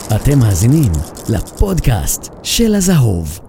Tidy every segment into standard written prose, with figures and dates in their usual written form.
אתם מאזינים לפודקאסט של הזהוב.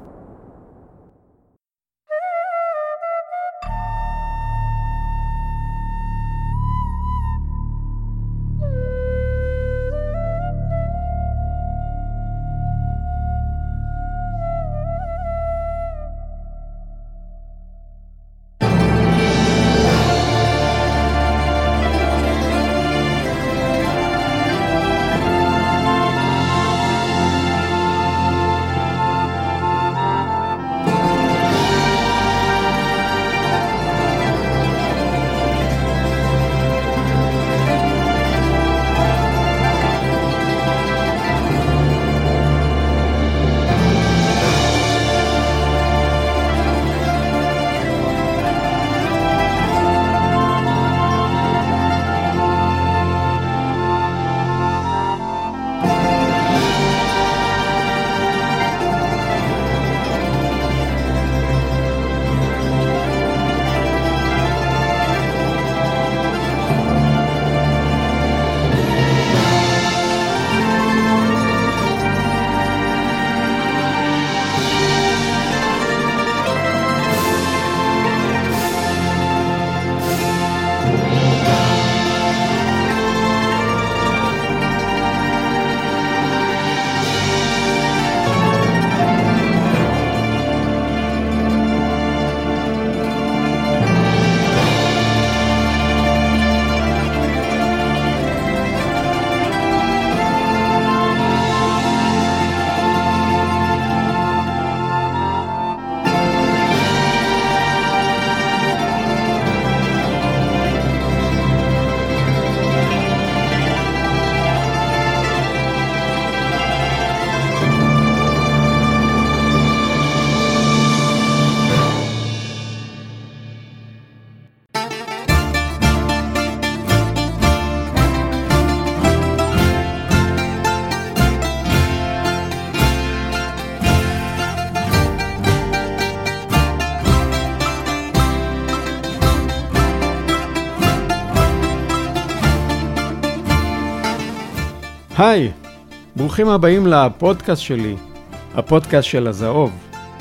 היי, ברוכים הבאים לפודקאסט שלי, הפודקאסט של הזהוב.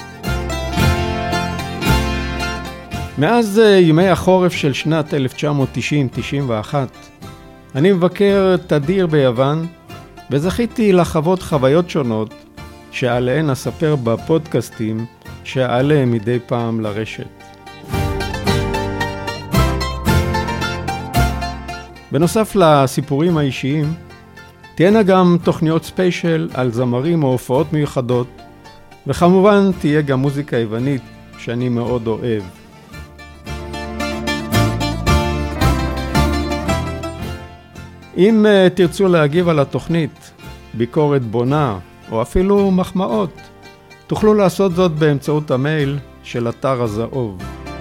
מאז ימי החורף של שנת 1990-91, אני מבקר תדיר ביוון, וזכיתי לחוות חוויות שונות שעליהן אספר בפודקאסטים שאעלה מדי פעם לרשת. בנוסף לסיפורים האישיים, תהיינה גם תוכניות ספיישל על זמרים או הופעות מיוחדות, וכמובן תהיה גם מוזיקה יוונית שאני מאוד אוהב. אם תרצו להגיב על התוכנית, ביקורת בונה או אפילו מחמאות, תוכלו לעשות זאת באמצעות המייל של אתר הזהוב.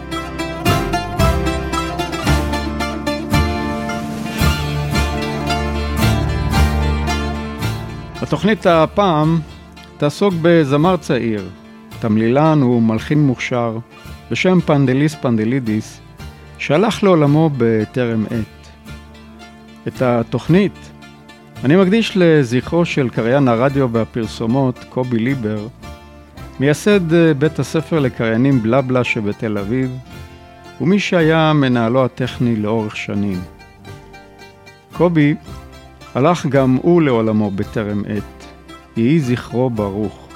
התוכנית הפעם תעסוק בזמר צעיר, תמלילן ומלחין מוכשר בשם פנדליס פנדלידיס, שהלך לעולמו בטרם עת. את התוכנית אני מקדיש לזכרו של קריין הרדיו והפרסומות קובי ליבר, מייסד בית הספר לקריינים בלבלה שבתל אביב, ומי שהיה מנהלו הטכני לאורך שנים. קובי הלך גם הוא לעולמו בטרם עת, יהי זכרו ברוך.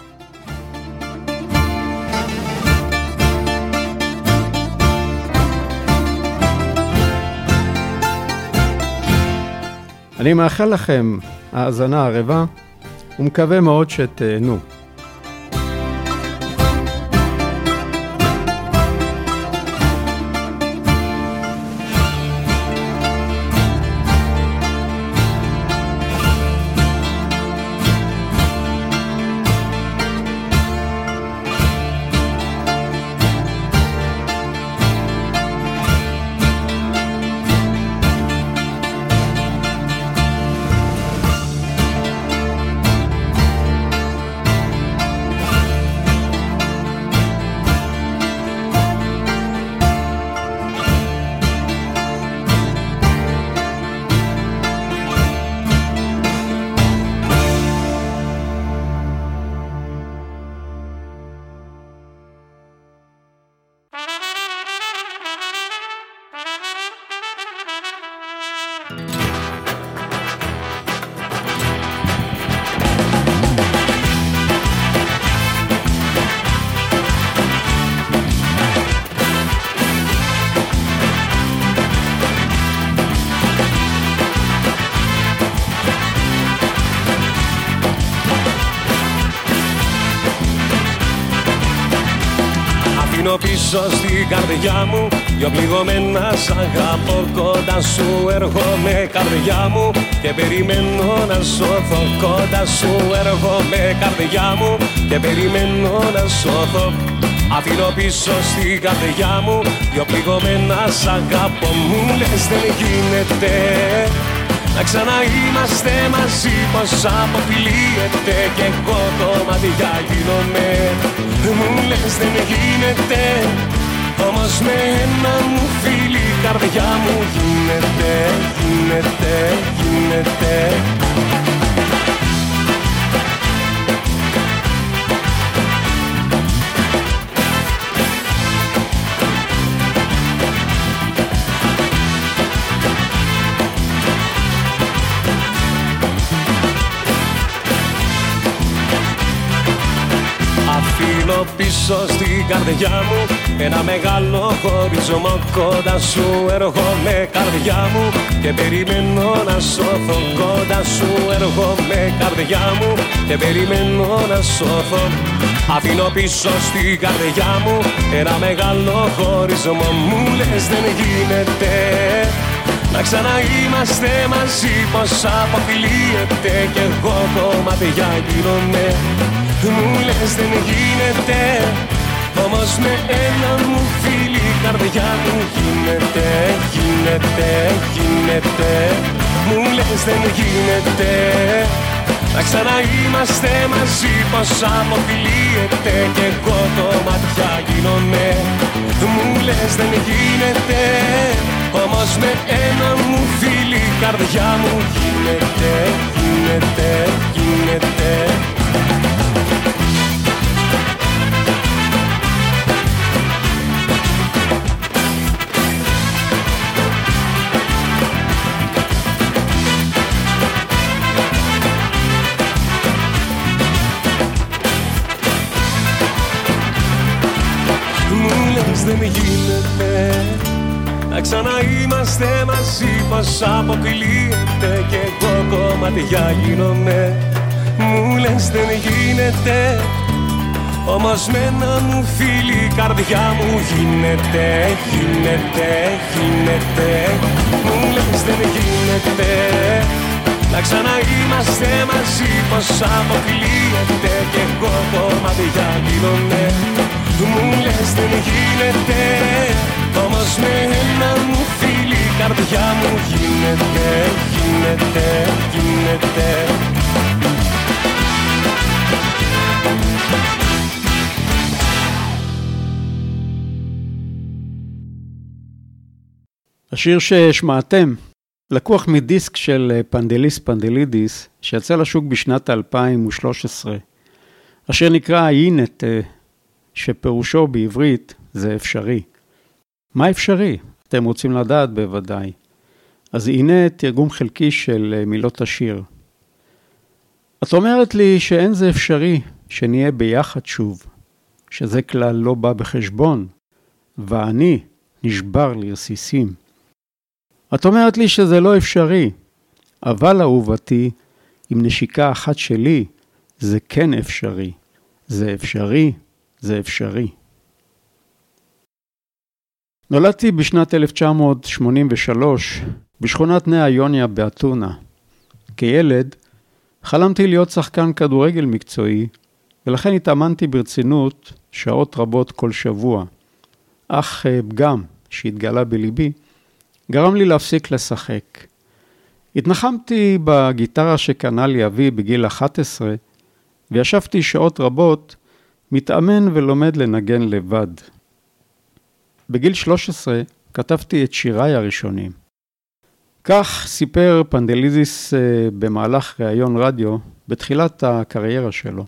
אני מאחל לכם האזנה ערבה, ומקווה מאוד שתהנו. Αφήνω πίσω στην καρδιά μου δυο πληγωμένα σ' αγαπώ. Κοντά σου έρχομαι καρδιά μου και περιμένω να σώθω. Κοντά σου έρχομαι καρδιά μου και περιμένω να σώθω. Αφήνω πίσω στην καρδιά μου δυο πληγωμένα σ' αγαπώ. Μου λες δεν γίνεται να ξαναείμαστε μαζί, πως αποκλείεται κι εγώ κομμάτια γίνομαι. Μου λες δεν γίνεται, όμως με ένα μου φίλι η καρδιά μου γίνεται, γίνεται, γίνεται. Αφήνω πίσω στην καρδιά μου ένα μεγάλο χωρισμό. Κοντά σου έρχομαι καρδιά μου και περιμένω να σώθω. Κοντά σου έρχομαι καρδιά μου και περιμένω να σώθω. Αφήνω πίσω στην καρδιά μου ένα μεγάλο χωρισμό. Μου λες δεν γίνεται να ξαναείμαστε μαζί, πως αποκλείεται κι εγώ κομμάτια γίνομαι. Μου λες δεν γίνεται, όμως με ένα μου φίλι η καρδιά μου γίνεται, γίνεται, γίνεται. Μου λες δεν γίνεται να ξαναείμαστε μαζί, πως αποκλείεται κι εγώ κομμάτια γίνομαι. Μου λες δεν γίνεται, όμως με ένα μου φίλι η καρδιά μου γίνεται, γίνεται, γίνεται. Δεν γίνεται να ξαναείμαστε μαζί, πως αποκλείεται κι εγώ κομμάτια γίνομαι. Μου λες δεν γίνεται, όμως με ένα μου φίλι η καρδιά μου γίνεται, γίνεται, γίνεται. Μου λες δεν γίνεται να ξαναείμαστε μαζί, πως αποκλείεται κι εγώ κομμάτια γίνομαι. Μου λες δεν γίνεται, όμως με ένα μου φίλι η καρδιά μου γίνεται, γίνεται, γίνεται. השיר ששמעתם לקוח מדיסק של פנדליס פנדלידיס שיצא לשוק בשנת 2013. השיר נקרא אינט, שפירושו בעברית זה אפשרי. מה אפשרי? אתם רוצים לדעת בוודאי. אז הנה תרגום חלקי של מילות השיר. את אומרת לי שאין זה אפשרי שנהיה ביחד שוב, שזה כלל לא בא בחשבון, ואני נשבר לרסיסים. את אומרת לי שזה לא אפשרי, אבל אהובתי, עם נשיקה אחת שלי, זה כן אפשרי. זה אפשרי, זה אפשרי. נולדתי בשנת 1983 בשכונת נאה יוניה באתונה. כילד חלמתי להיות שחקן כדורגל מקצועי, ולכן התאמנתי ברצינות שעות רבות כל שבוע. אך פגם שהתגלה בליבי גרם לי להפסיק לשחק. התנחמתי בגיטרה שקנה לי אבי בגיל 11, וישבתי שעות רבות מתאמן ולומד לנגן לבד. בגיל 13 כתבתי את שיריי הראשונים. כך סיפר פנדלידיס במהלך ראיון רדיו בתחילת הקריירה שלו.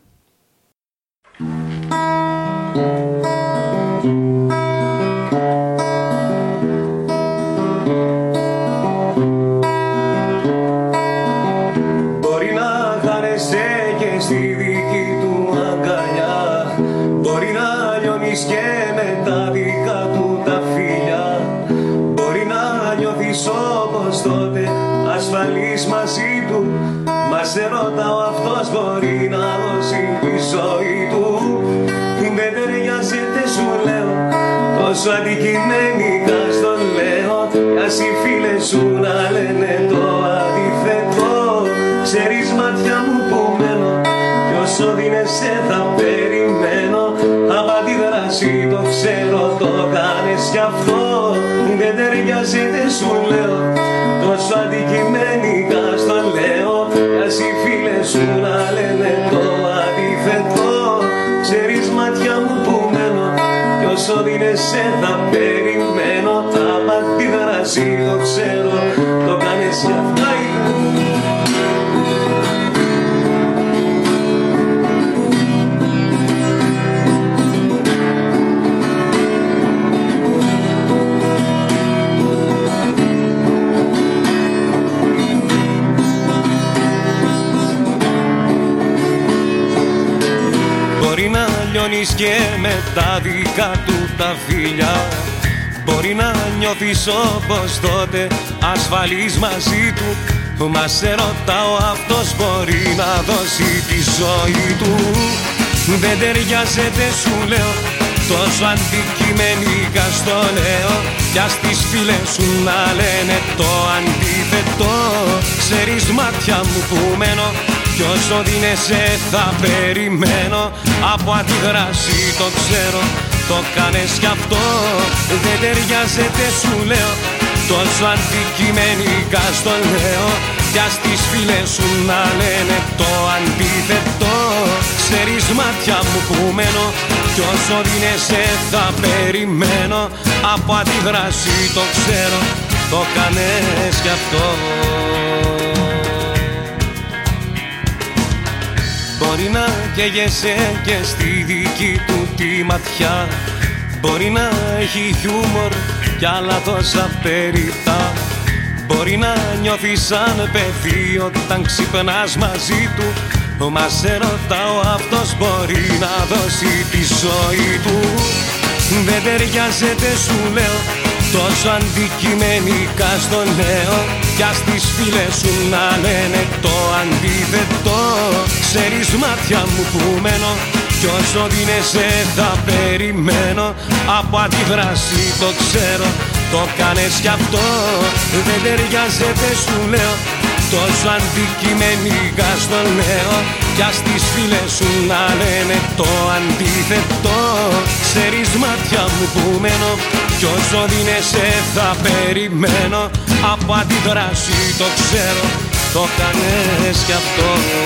ασφαλής μαζί του. Μα σε ρωτάω, αυτός μπορεί να δώσει τη ζωή του? Δεν ταιριάζεται σου λέω, τόσο αντικειμενικά στο λέω. Ας οι φίλες σου να λένε το αντίθετο. Ξέρεις μάτια μου που μένω, κι όσο δίνεσαι θα περιμένω. Από αντίδραση το ξέρω, το κάνεις γι' αυτό. Δεν ταιριάζεται σου λέω, τόσο αντικειμενικά στο λέω. Ας οι φίλες σου να λένε το αντίθετο. Ξέρεις μάτια μου που μένω, κι όσο δίνεσαι θα περιμένω. Από αντίδραση το ξέρω, το κάνεις γι' αυτό. Μπορεί να λιώνεις και με τα δικά του τα φιλιά. Μπορεί να νιώθεις όπως τότε ασφαλής μαζί του. Μα σε ρωτάω, αυτός μπορεί να δώσει τη ζωή του? Δεν ταιριάζεται σου λέω, τόσο αντικειμενικά στο λέω. Κι ας τις φίλες σου να λένε το αντίθετο. Ξέρεις μάτια μου που μένω, κι όσο δίνεσαι θα περιμένω. Από αντίδραση το ξέρω, το κάνες κι αυτό. Δεν ταιριάζεται σου λέω, τόσο αντικειμενικά στο λέω. Κι ας τις φίλες σου να λένε το αντίθετο. Ξέρεις μάτια μου που μένω, κι όσο δίνεσαι θα περιμένω. Από αντίδραση το ξέρω, το κάνες κι αυτό. Μπορεί να καίγεσαι και στη δική του τη ματιά. Μπορεί να έχει χιούμορ κι άλλα τόσα περιττά. Μπορεί να νιώθει σαν παιδί όταν ξυπνάς μαζί του. Μα σε ρωτάω, αυτός μπορεί να δώσει τη ζωή του? Δεν ταιριάζεται σου λέω, τόσο αντικειμενικά στο λέω. Κι ας τις φίλες σου να λένε το αντίθετο. Ξέρεις μάτια μου που μένω, κι όσο δίνεσαι θα περιμένω. Από αντίδραση το ξέρω, το κάνες κι αυτό. Δεν ταιριάζεται σου λέω, τόσο αντικειμενικά στο λέω. Κι ας τις φίλες σου να λένε το αντίθετο. Ξέρεις μάτια μου που μένω, κι όσο δίνεσαι θα περιμένω. Από αντίδραση το ξέρω, το κάνες κι αυτό.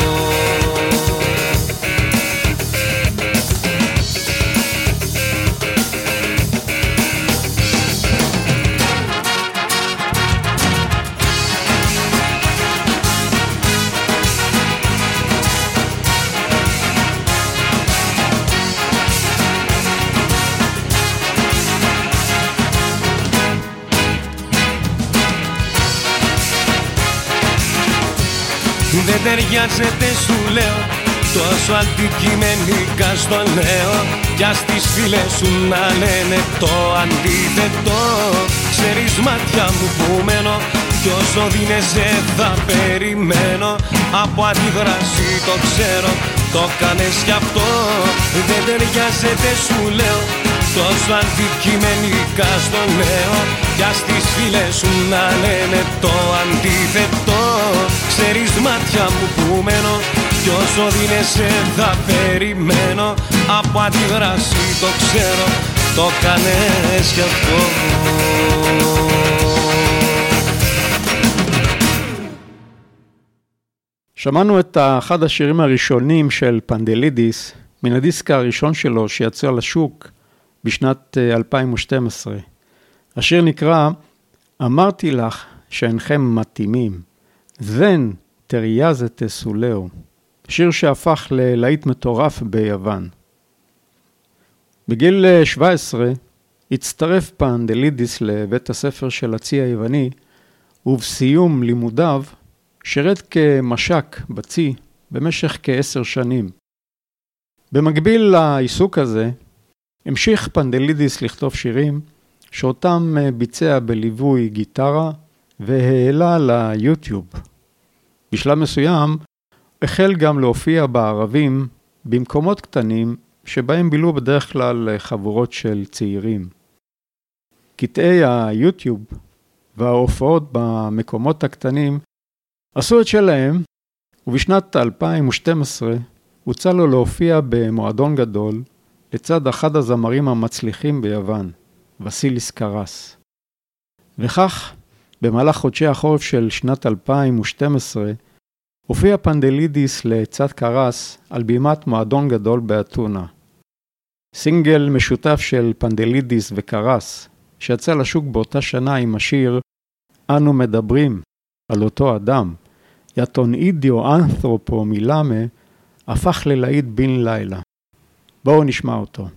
Δεν ταιριάζεται σου λέω, τόσο αντικειμενικά στο λέω. Κι ας τις φίλες σου να λένε το αντίθετο. Ξέρεις μάτια μου που μένω, κι όσο δίνεσαι θα περιμένω. Από αντίδραση το ξέρω, το κάνες κι αυτό. Δεν ταιριάζεται σου λέω, τόσο αντικειμενικά στο λέω. Κι ας τις φίλες σου να λένε το αντίθετο. Ξέρεις μάτια μου που μένω, κι όσο δίνεσαι θα περιμένω. Από αντίδραση το ξέρω, το κάνες κι αυτό. שמענו את אחד השירים הראשונים של פנדלידיס, מן הדיסק הראשון שלו שיצא לשוק בשנת 2012. השיר נקרא אמרתי לך שאינכם מתאימים, זן תריאזת סולאו, שיר שהפך ללהיט מטורף ביוון. בגיל 17 הצטרף פנדלידיס לבית הספר של הצי היווני, ובסיום לימודיו שירת כמשק בצי במשך כ10 שנים. במקביל לעיסוק הזה, המשיך פנדלידיס לכתוב שירים שאותם ביצע בליווי גיטרה, והעלה ליוטיוב. בשלב מסוים החל גם להופיע בערבים במקומות קטנים שבהם בילו בדרך כלל חבורות של צעירים. קטעי היוטיוב וההופעות במקומות הקטנים עשו את שלהם, ובשנת 2012 הוצע לו להופיע במועדון גדול לצד אחד הזמרים המצליחים ביוון, וסיליס קרס. וכך, במהלך חודשי החורף של שנת 2012, הופיע פנדלידיס לצד קרס על בימת מועדון גדול באתונה. סינגל משותף של פנדלידיס וקרס, שיצא לשוק באותה שנה עם השיר "אנו מדברים על אותו אדם", יתון אידיו אנתרופו מילמה, הפך ללהיט בן לילה. בואו נשמע אותו.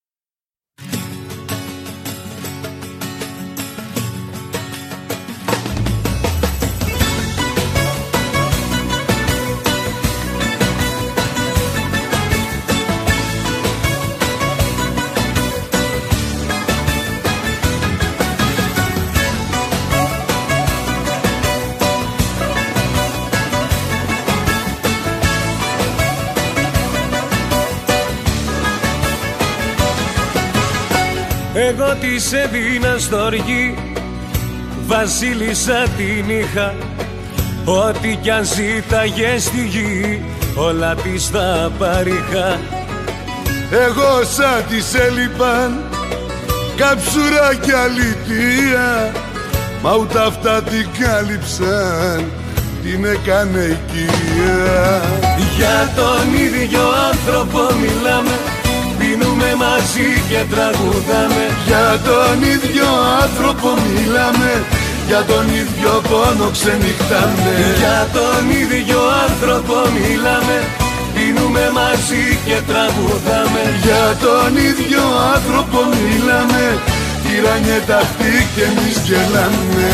Εγώ της έδινα στοργή, βασίλισσα την είχα. Ό,τι κι αν ζήταγε στη γη, όλα της τα παρήχα. Εγώ σαν της έλειπαν κάψουρα κι αλήθεια, μα ούτε αυτά την κάλυψαν, την έκανε οικία. Για τον ίδιο άνθρωπο μιλάμε, πίνουμε μαζί και τραγουδάμε. Για τον ίδιο άνθρωπο μιλάμε, για τον ίδιο πόνο ξενυχτάμε. Για τον ίδιο άνθρωπο μιλάμε, πίνουμε μαζί και τραγουδάμε. Για τον ίδιο άνθρωπο μιλάμε, τυραννιέται αυτή και εμείς γελάμε.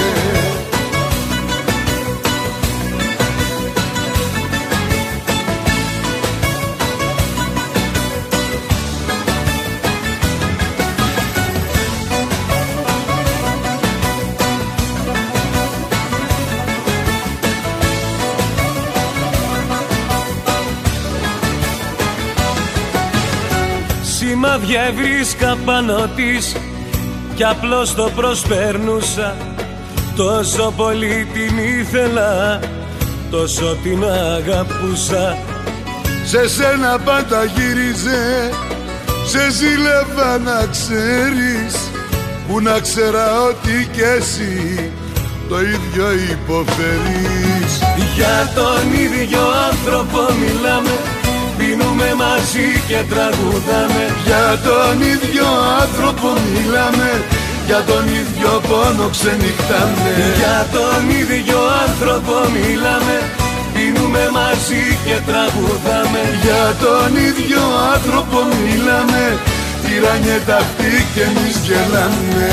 Σημάδια ευρίσκα πάνω της κι απλώς το προσπέρνουσα. Τόσο πολύ την ήθελα, τόσο την αγαπούσα. Σε σένα πάντα γύριζε, σε ζήλευα να ξέρεις, που να ξέρα ότι κι εσύ το ίδιο υποφέρεις. Για τον ίδιο άνθρωπο μιλάμε, πίνουμε μαζί και τραγουδάμε. Για τον ίδιο άνθρωπο μιλάμε, για τον ίδιο πόνο ξενυχτάμε. Για τον ίδιο άνθρωπο μιλάμε, πίνουμε μαζί και τραγουδάμε. Για τον ίδιο άνθρωπο μιλάμε, τυραννιέται αυτή και εμείς γελάμε.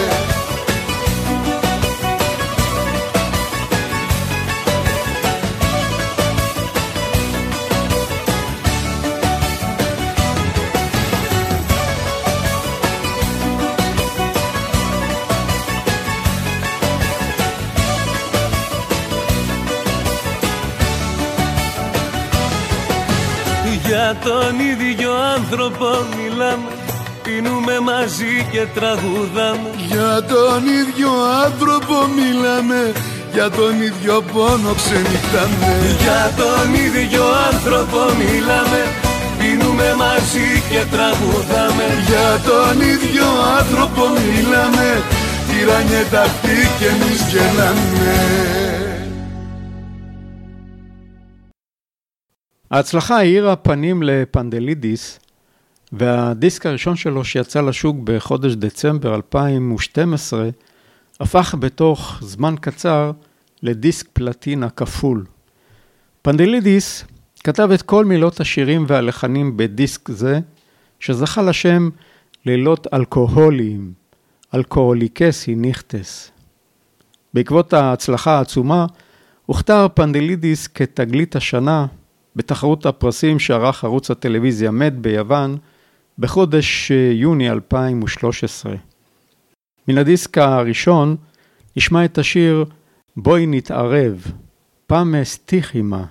Για τον ίδιο άνθρωπο μιλάμε, πίνουμε μαζί και τραγουδάμε. Για τον ίδιο άνθρωπο μιλάμε, για τον ίδιο πόνο ξενυχτάμε. Για τον ίδιο άνθρωπο μιλάμε, πίνουμε μαζί και τραγουδάμε. Για τον ίδιο άνθρωπο μιλάμε, τυραννιέται αυτή και εμείς γελάμε. ההצלחה האירה פנים לפנדלידיס, והדיסק הראשון שלו שיצא לשוק בחודש דצמבר 2012, הפך בתוך זמן קצר לדיסק פלטינה כפול. פנדלידיס כתב את כל מילות השירים והלחנים בדיסק זה, שזכה לשם לילות אלכוהוליים, אלכוהוליקסי ניכטס. בעקבות ההצלחה העצומה, הוכתר פנדלידיס כתגלית השנה, בתחרות הפרסים שערך ערוץ הטלוויזיה מד ביוון בחודש יוני 2013. מן הדיסק הראשון נשמע את השיר בואי נתערב, פעם סטיחימה.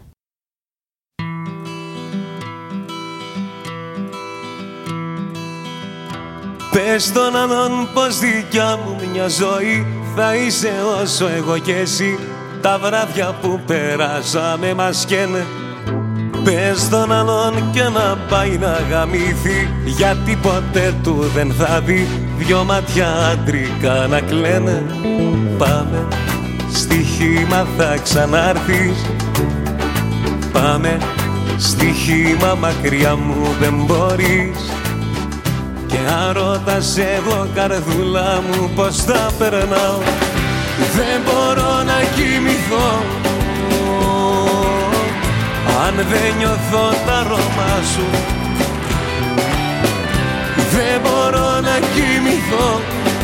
Πες τον άλλον πως δικιά μου μια ζωή θα είσαι όσο εγώ και εσύ. Τα βράδια που περάσαμε μας καίνε. Πες τον άλλον και να πάει να γαμήθει, γιατί ποτέ του δεν θα δει δυο μάτια άντρικα να κλαίνε. Πάμε στοίχημα θα ξανάρθεις. Πάμε στοίχημα μακριά μου δεν μπορείς. Και αν ρωτάς εγώ καρδούλα μου πως θα περνάω, δεν μπορώ να κοιμηθώ αν δεν νιώθω τα αρώμα σου. Δεν μπορώ να κοιμηθώ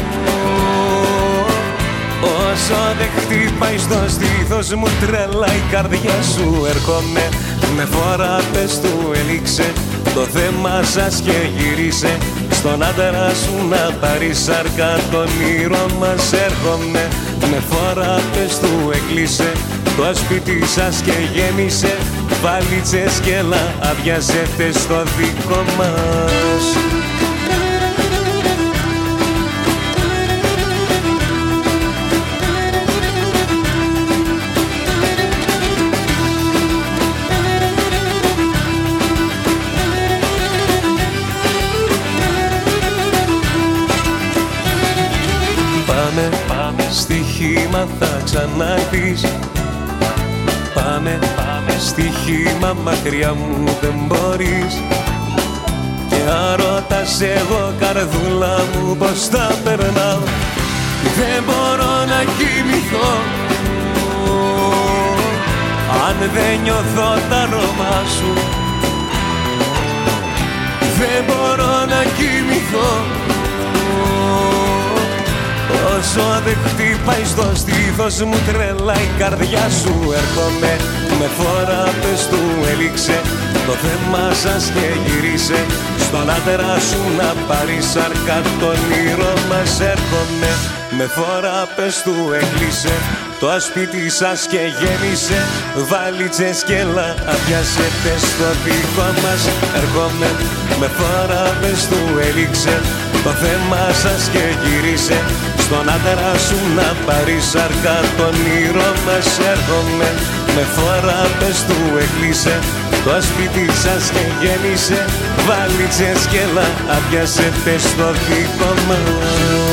όσο δεν χτυπάει στο στήθος μου τρελά η καρδιά σου. Έρχομαι με φορά πες του έληξε το θέμα σας και γύρισε. Στον άντρα σου να πάρει σάρκα το όνειρο μας. Έρχομαι με φορά πες του έκλεισε το σπίτι σας και γέμισε. Βαλίτσες και αδειάζετε στο δικό μας. Πάμε στοίχημα θα ξανάρθεις. Πάμε στοίχημα μακριά μου δεν μπορείς. Και αν ρωτάς εγώ καρδούλα μου πως θα περνάω, δεν μπορώ να κοιμηθώ αν δεν νιώθω τα αρώμα σου. Δεν μπορώ να κοιμηθώ όσο δεν χτυπάει στο στήθος μου τρελά η καρδιά σου. Έρχομαι με φορά πες του έληξε το θέμα σας και γυρίσε. Στον άντρα σου να πάρει σάρκα το όνειρο μας. Έρχομαι με φορά πες του έκλεισε το σπίτι σας και γέμισε. Βαλίτσες και αδειάζετε στο δικό μας. Έρχομαι με φορά πες του έληξε το θέμα σας και γύρισε. Στον άντρα σου να πάρει σάρκα το όνειρο μας. Έρχομαι με φορά πες του έκλεισε το σπίτι σας και γέμισε. Βαλίτσες και αδειάζετε στο δικό μας.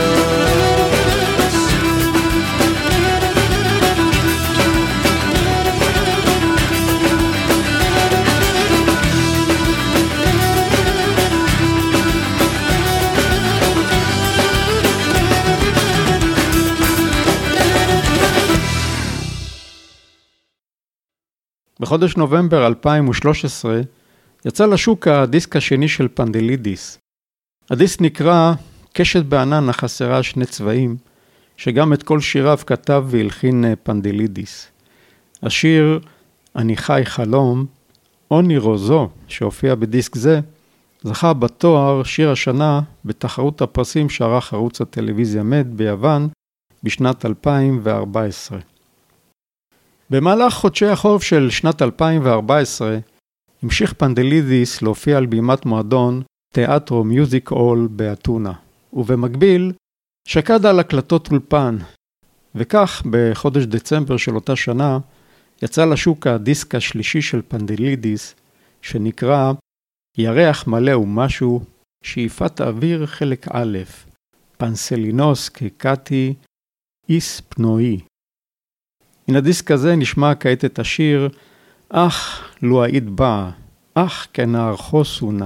בחודש נובמבר 2013 יצא לשוק הדיסק השני של פנדלידיס. הדיסק נקרא קשת בענן החסרה שני צבעים, שגם את כל שיריו כתב והלחין פנדלידיס. השיר אני חי חלום, אוני רוזו, שהופיע בדיסק זה, זכה בתואר שיר השנה בתחרות הפרסים שערך ערוץ הטלוויזיה מד ביוון בשנת 2014. במהלך חודשי החורף של שנת 2014 המשיך פנדלידיס להופיע על בימת מועדון תיאטרו מיוזיק אול באתונה, ובמקביל שקד על הקלטות אולפן, וכך בחודש דצמבר של אותה שנה יצא לשוק הדיסק השלישי של פנדלידיס שנקרא ירח מלא ומשהו, שאיפת אוויר חלק א', פנסלינוס קקתי איס פנועי. מן הדיסק הזה נשמע כעת את השיר אך לו היית בא, אך כנער חוסונה.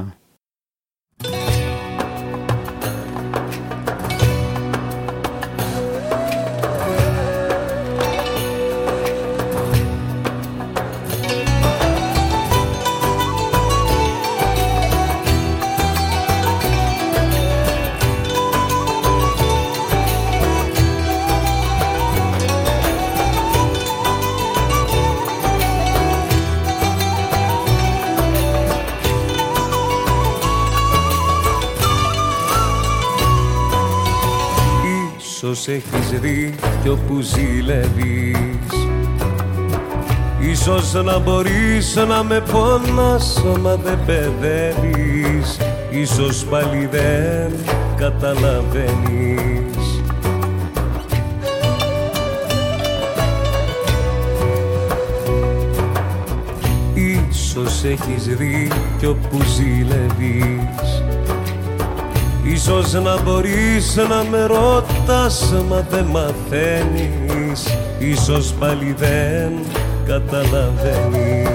Ίσως έχεις δίκιο που ζηλεύεις, ίσως να μπορείς να με πονάς μα δεν παιδεύεις, ίσως πάλι δεν καταλαβαίνεις. Ίσως έχεις δίκιο που ζηλεύεις, ίσως να μπορείς να με ρωτάς μα δεν μαθαίνεις, ίσως πάλι δεν καταλαβαίνεις.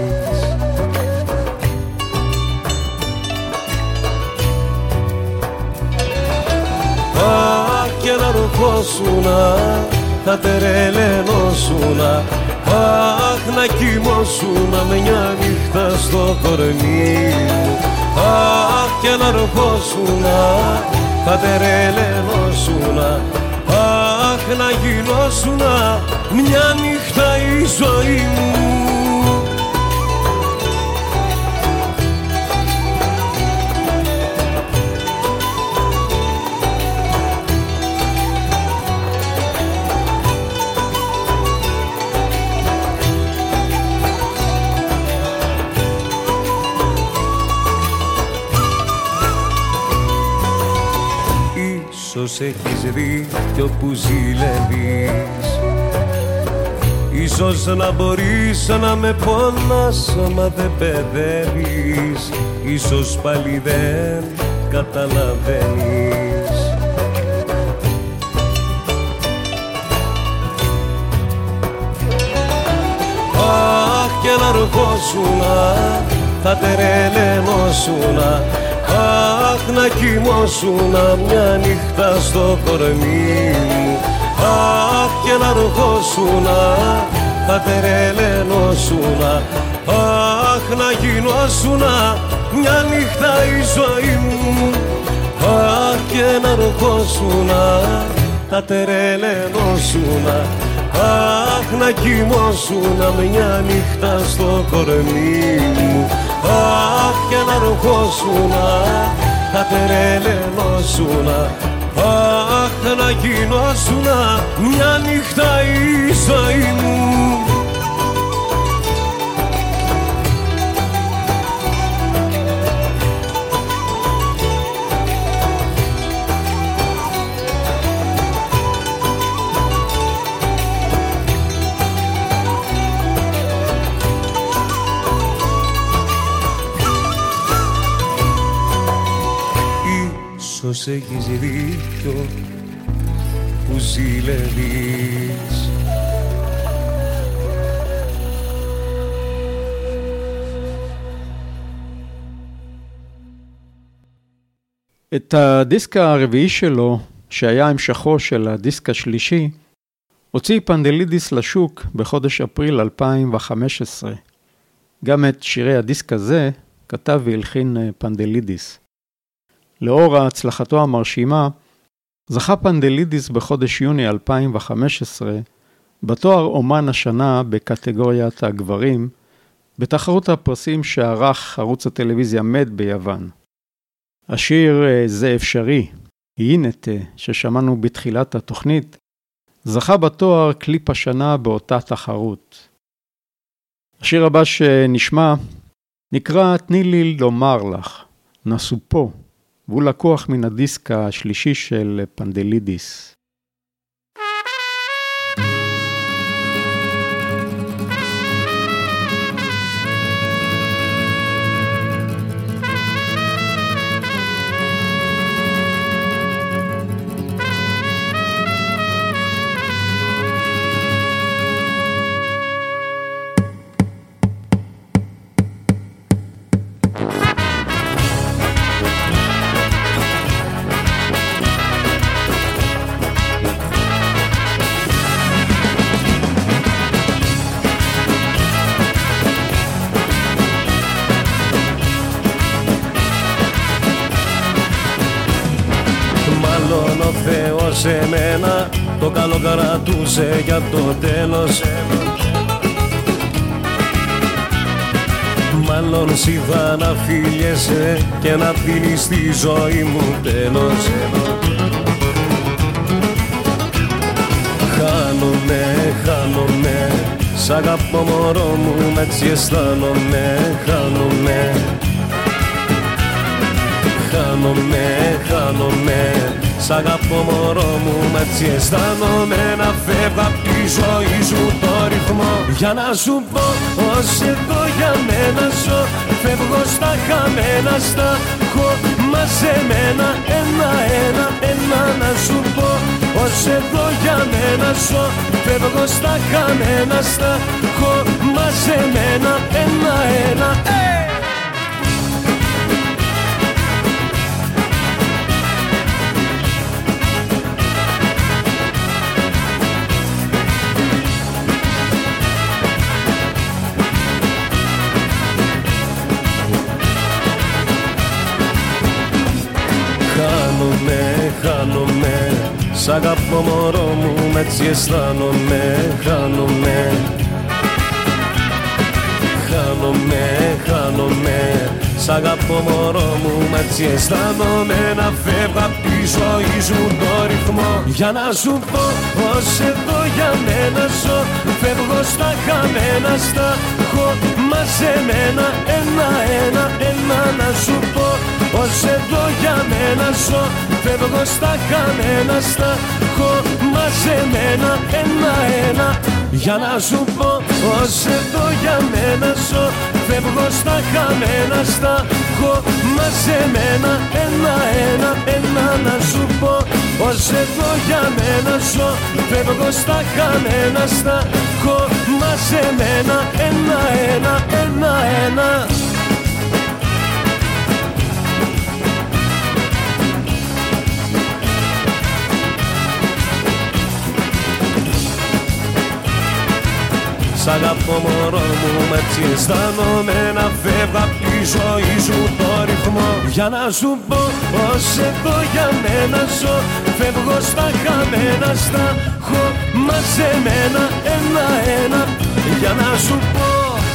Αχ, κι να ροχώσουνα, θα τερελενώσουνα, αχ, να κοιμώσουνα με μια νύχτα στο κορμί μου. Αχ, κι να ροχώσουνα, θα τερελενώσουνα, αχ, να γινώσουνα μια νύχτα η ζωή μου. Ίσως έχεις δίκιο που ζηλεύεις, ίσως να μπορείς να με πονάς μα δεν παιδεύεις, ίσως πάλι δεν καταλαβαίνεις. Αχ, και να ροχώσουνα, θα τερελενώσουνα, αχ, να κοιμώσουνα μια νύχτα στο κορμί μου. Αχ, και να ροχώσουνα, θα τερελενώσουνα, αχ, να γινώσουνα μια νύχτα η ζωή μου. Αχ, και να ροχώσουνα, θα τερελενώσουνα, αχ, να κοιμώσουνα μια νύχτα στο κορμί μου. Αχ, και να ροχώσουνα, θα τερελενώσουνα, αχ, να γινώσουνα μια νύχτα η ζωή μου. Ίσως έχεις δίκιο που ζηλεύεις. את הדיסק הרביעי שלו, שהיה המשכו של הדיסק השלישי, הוציא פנדלידיס לשוק בחודש אפריל 2015. גם את שירי הדיסק הזה כתב והלחין פנדלידיס. לאור הצלחתו המרשימה, זכה פנדלידיס בחודש יוני 2015 בתואר אומן השנה בקטגוריית הגברים, בתחרות הפרסים שערך ערוץ הטלוויזיה מד ביוון. השיר זה אפשרי, יינטה, ששמענו בתחילת התוכנית, זכה בתואר קליפ השנה באותה תחרות. השיר הבא שנשמע נקרא תני לי לומר לך, נסו פה, והוא לקוח מן הדיסק השלישי של פנדלידיס. Σε μένα το καλό κρατούσε για το τέλος. Μάλλον σ' να φίλιεσαι και να δίνεις τη ζωή μου τέλος. χάνομαι. Σ' αγαπώ μωρό μου, έτσι αισθάνομαι. Χάνομαι, σ' αγαπώ μωρό μου, έτσι αισθάνομαι. Να φεύγω απ' τη ζωή σου το ρυθμό, για να σου πω πως εδώ για μένα ζω. Φεύγω στα χαμένα, στα έχω μαζεμένα. Ένα να σου πω πως εδώ για μένα ζω. Φεύγω στα χαμένα, στα έχω μαζεμένα. Ένα χάνομαι, σ' αγαπώ μωρό μου, έτσι αισθάνομαι. Χάνομαι, σ' αγαπώ μωρό μου, έτσι αισθάνομαι. Να φεύγω απ' τη ζωή σου το ρυθμό, για να σου πω πως εδώ για μένα ζω. Φεύγω στα χαμένα, στα έχω μαζεμένα. Ένα να σου πω πως εδώ για μένα ζω. Φεύγω στα χαμένα, στα έχω μαζεμένα. Ένα για να σου πω πως εδώ για μένα ζω. Φεύγω στα χαμένα, στα έχω μαζεμένα. Ένα να σου πω πως εδώ για μένα ζω. Φεύγω στα χαμένα, στα έχω μαζεμένα. Ένα σ' αγαπώ μωρό μου, έτσι αισθάνομαι. Να φεύγω απ' τη ζωή σου το ρυθμό, για να σου πω πως εδώ για μένα ζω. Φεύγω στα χαμένα, στα έχω μαζεμένα. Ένα για να σου πω.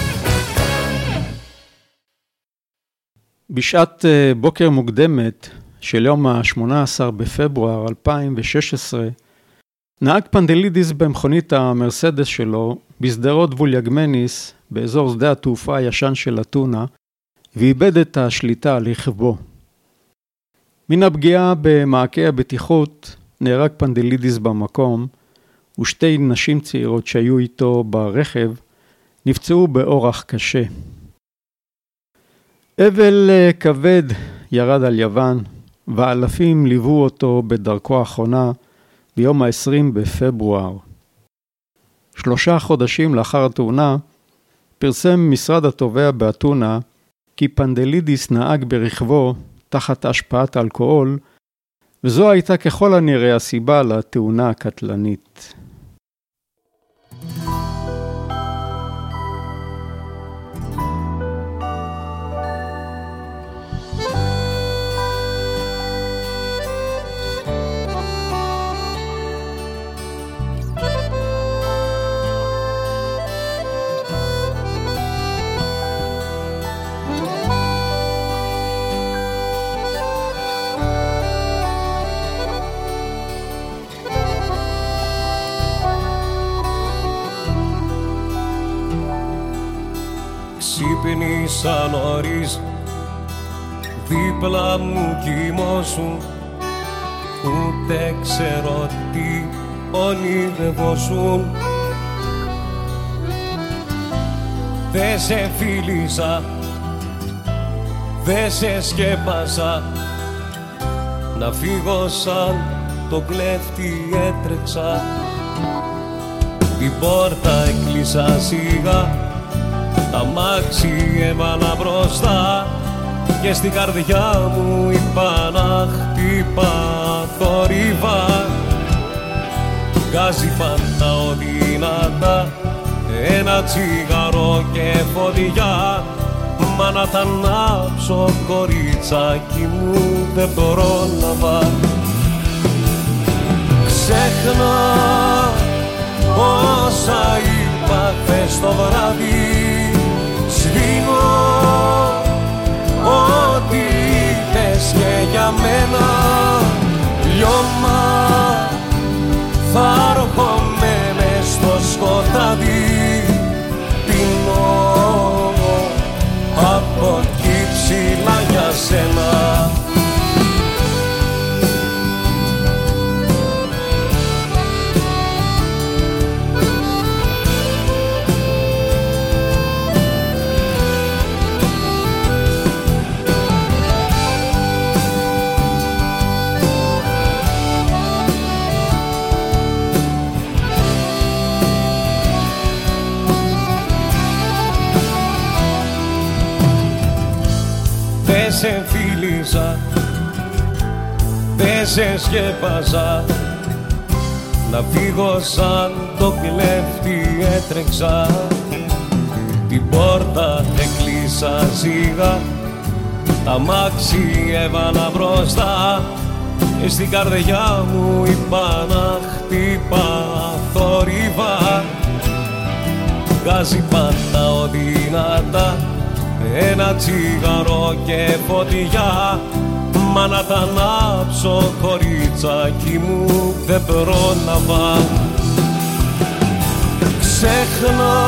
בשעת בוקר מוקדמת של יום ה-18 בפברואר 2016, נהג פנדלידיס במכונית המרסדס שלו בשדרות וליגמניס באזור שדה התעופה הישן של אתונה, ואיבד את השליטה על רכבו. מן הפגיעה במעקה הבטיחות נהרג פנדלידיס במקום, ושתי נשים צעירות שהיו איתו ברכב נפצעו באורח קשה. אבל כבד ירד על יוון, ואלפים ליוו אותו בדרכו האחרונה ביום ה-20 בפברואר. 3 חודשים לאחר התאונה, פרסם משרד התובע באתונה כי פנדלידיס נהג ברכבו תחת השפעת אלכוהול, וזו הייתה ככל הנראה הסיבה לתאונה הקטלנית. Ξύπνησα νωρίς, δίπλα μου κοιμώσουν, ούτε ξέρω τι ονειρευόσουν. Δε σε φίλησα, δε σε σκέπασα, να φύγω σαν το κλέφτη έτρεξα. Την πόρτα έκλεισα σιγά, τα μάξι έβαλα μπροστά και στην καρδιά μου είπα να χτύπα θόρυβα. Γκάζει πάντα οδυνατά, ένα τσιγάρο και φωτιά, μα να τα ανάψω κοριτσάκι μου δεν πρόλαβα. Ξέχνα όσα είπα χθες το βράδυ, σβήνω ό,τι είπες και για μένα. Λιώμα θα έρχομαι μες σε φίλησα, δε σε σκέπαζα. Να φύγω σαν το κλέφτη έτρεξα, την πόρτα έκλεισα σιγά, τα αμάξι έβαλα μπροστά. Στην καρδιά μου είπα να χτύπα θόρυβα. Βγάζει πάντα δυνατά ένα τσιγαρό και φωτιά. Μα να τα ανάψω κοριτσάκι μου δεν πρόλαβα. Ξέχνα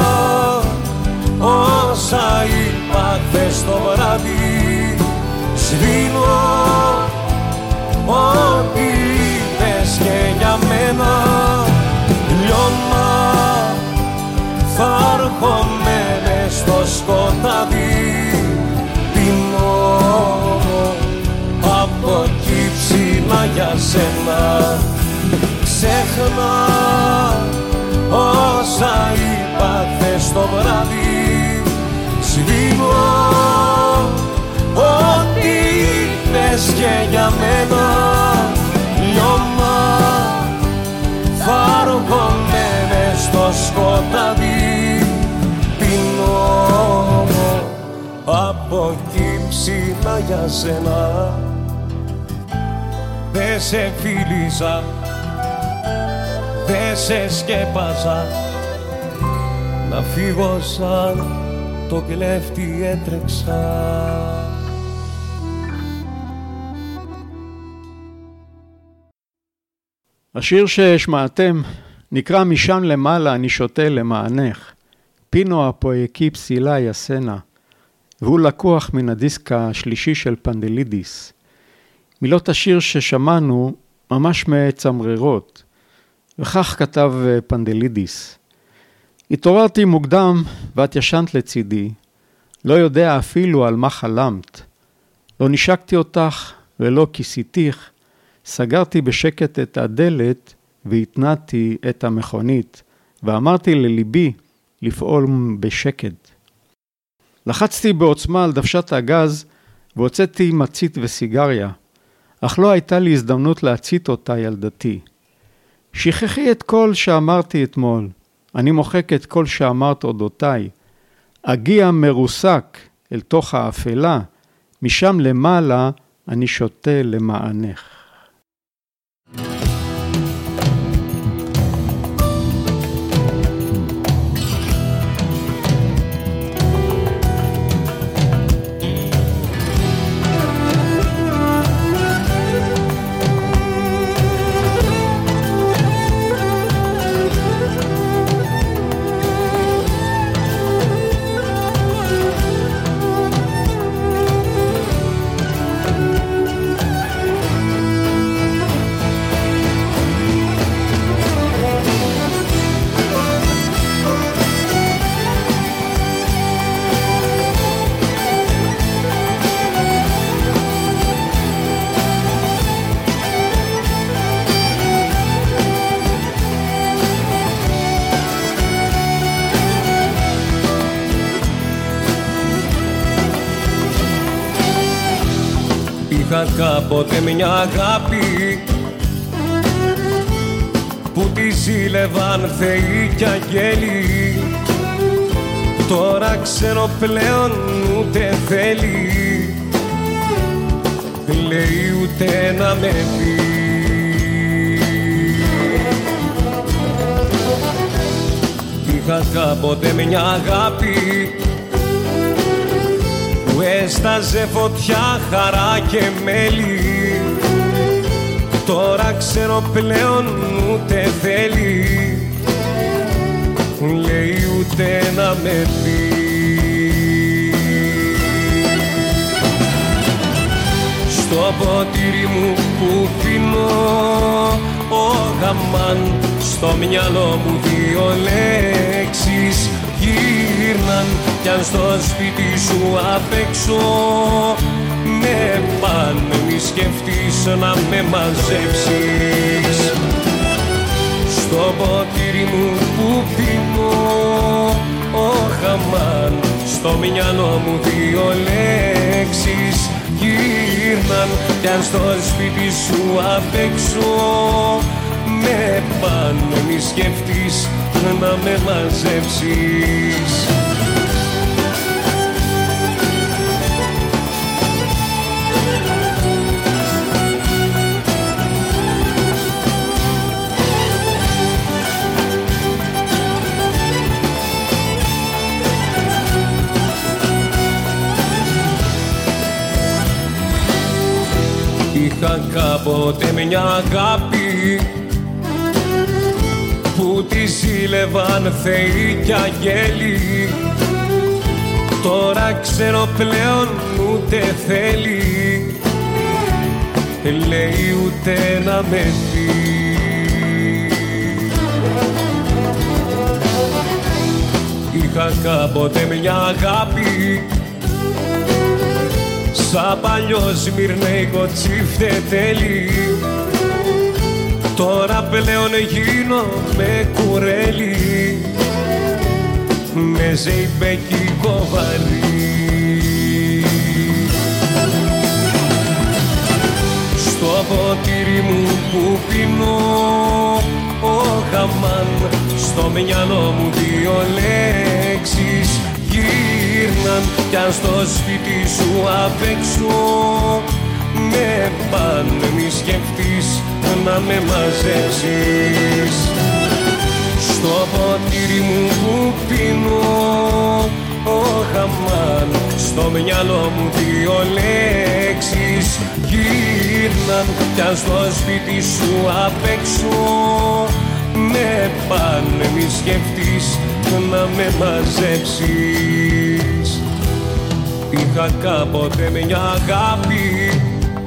όσα είπα χθες το βράδυ, σβήνω ό,τι είπες και για μένα. Λιώμα θα έρχομαι μες στο σκοτάδι, πίνω από εκεί ψηλά για σένα. Ξέχνα όσα είπα χθες το βράδυ, σβήνω ό,τι είπες και για μένα. Λιώμα θα έρχομαι μες στο σκοτάδι, πίνω από εκεί ψηλά για σένα. Δε σε φίλησα, δε σε σκέπαζα, να φύγω σαν το κλέφτη έτρεξα. השיר שהשמעתם נקרא משם למעלה אני שותה למענך, פינו הפויקי פסילה יסנה, והוא לקוח מן הדיסק השלישי של פנדלידיס. מילות השיר ששמענו ממש מצמררות, וכך כתב פנדלידיס: התעוררתי מוקדם ואת ישנת לצידי, לא יודע אפילו על מה חלמת, לא נשקתי אותך ולא כיסיתיך, סגרתי בשקט את הדלת והתנעתי את המכונית, ואמרתי לליבי לפעול בשקט. לחצתי בעוצמה על דוושת הגז והוצאתי מצית וסיגריה, אך לא הייתה לי הזדמנות להצית אותה ילדתי. שכחי את כל שאמרתי אתמול, אני מוחק את כל שאמרת אודותיי, אגיע מרוסק אל תוך האפלה, משם למעלה אני שותה למענך. Είχα κάποτε μια αγάπη που τη ζήλευαν θεοί κι αγγέλοι, τώρα ξέρω πλέον ούτε θέλει, λέει ούτε να με πει. Είχα κάποτε μια αγάπη που έσταζε φωτιά, χαρά και μέλι, τώρα ξέρω πλέον ούτε θέλει, λέει ούτε να με πει. Στο ποτήρι μου που πίνω ο γαμάν, στο μυαλό μου δύο λέξεις γύρναν, κι αν στο σπίτι σου απ' έξω με πάνε, μη σκεφτείς να με μαζέψεις. Στο ποτήρι μου που πίνω ο χαμάν, στο μυαλό μου δύο λέξεις γύρναν κι αν στο σπίτι σου απ' έξω με πάνε μη σκεφτείς να με μαζέψεις. Είχα κάποτε μια αγάπη που τη ζήλευαν θεοί κι αγγέλοι. Τώρα ξέρω πλέον ούτε θέλει, λέει ούτε να με δει. Είχα κάποτε μια αγάπη σαν παλιό σμυρνέικο τσιφτετέλι. Τώρα πλέον γίνομαι κουρέλι με ζεϊμπέκικο βαρύ. Στο ποτήρι μου που πίνω ο χαμάν, στο μυαλό μου δύο λέξεις γύρναν κι αν στο σπίτι σου απ' έξω με πάνε μη σκεφτείς να με μαζέψεις. Στο ποτήρι μου που πίνω ο χαμάν, στο μυαλό μου δύο λέξεις γύρναν κι αν στο σπίτι σου απ' έξω με πάνε μη σκεφτείς να με μαζέψεις. Είχα κάποτε μια αγάπη